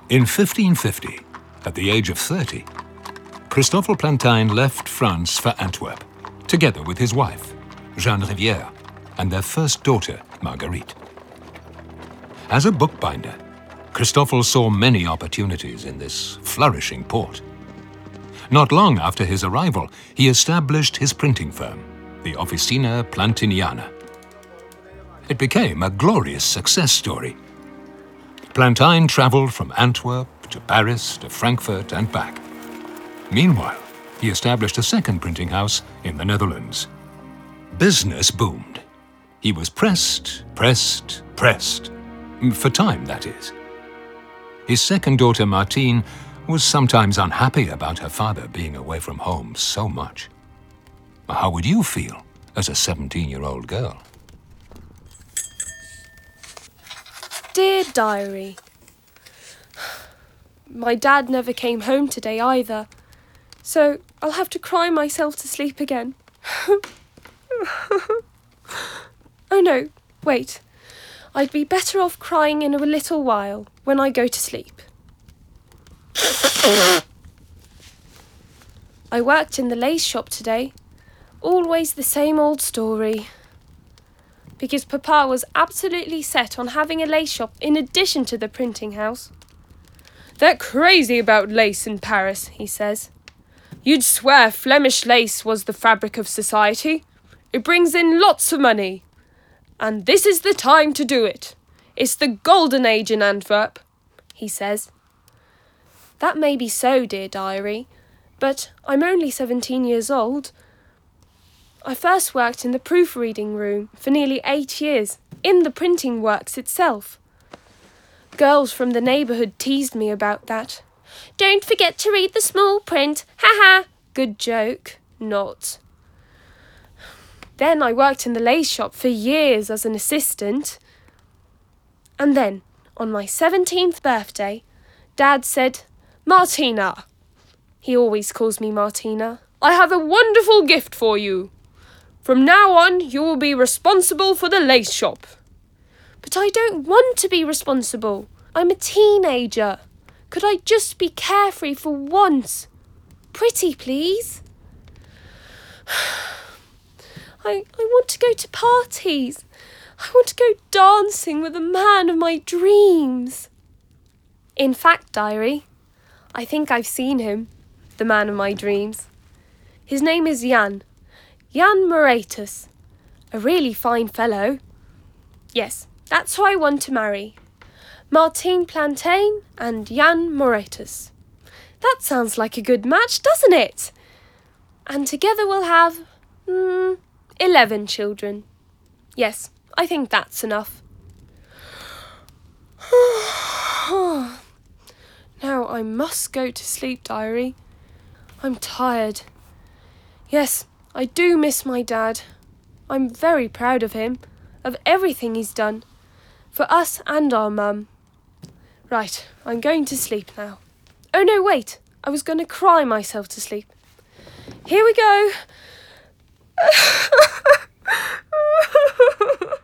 In 1550, at the age of 30, Christoffel Plantin left France for Antwerp, together with his wife, Jeanne Rivière, and their first daughter, Marguerite. As a bookbinder, Christoffel saw many opportunities in this flourishing port. Not long after his arrival, he established his printing firm, the Officina Plantiniana. It became a glorious success story. Plantin traveled from Antwerp to Paris to Frankfurt and back. Meanwhile, he established a second printing house in the Netherlands. Business boomed. He was pressed. For time, that is. His second daughter, Martine, was sometimes unhappy about her father being away from home so much. How would you feel as a 17-year-old girl? Dear Diary, my dad never came home today either, so I'll have to cry myself to sleep again. Oh no, wait. I'd be better off crying in a little while when I go to sleep. I worked in the lace shop today. Always the same old story. Because Papa was absolutely set on having a lace shop in addition to the printing house. They're crazy about lace in Paris, he says. You'd swear Flemish lace was the fabric of society. It brings in lots of money. And this is the time to do it. It's the golden age in Antwerp, he says. That may be so, dear Diary, but I'm only 17 years old. I first worked in the proofreading room for nearly 8 years, in the printing works itself. Girls from the neighbourhood teased me about that. Don't forget to read the small print, ha-ha! Good joke, not. Then I worked in the lace shop for years as an assistant. And then, on my 17th birthday, Dad said, Martina. He always calls me Martina. I have a wonderful gift for you. From now on, you will be responsible for the lace shop. But I don't want to be responsible. I'm a teenager. Could I just be carefree for once? Pretty, please. I want to go to parties. I want to go dancing with the man of my dreams. In fact, Diary, I think I've seen him, the man of my dreams. His name is Jan Moratus. A really fine fellow. Yes, that's who I want to marry. Martine Plantin and Jan Moratus. That sounds like a good match, doesn't it? And together we'll have 11 children. Yes, I think that's enough. Now I must go to sleep, Diary. I'm tired. Yes, I do miss my dad. I'm very proud of him, of everything he's done, for us and our mum. Right, I'm going to sleep now. Oh no, wait, I was going to cry myself to sleep. Here we go.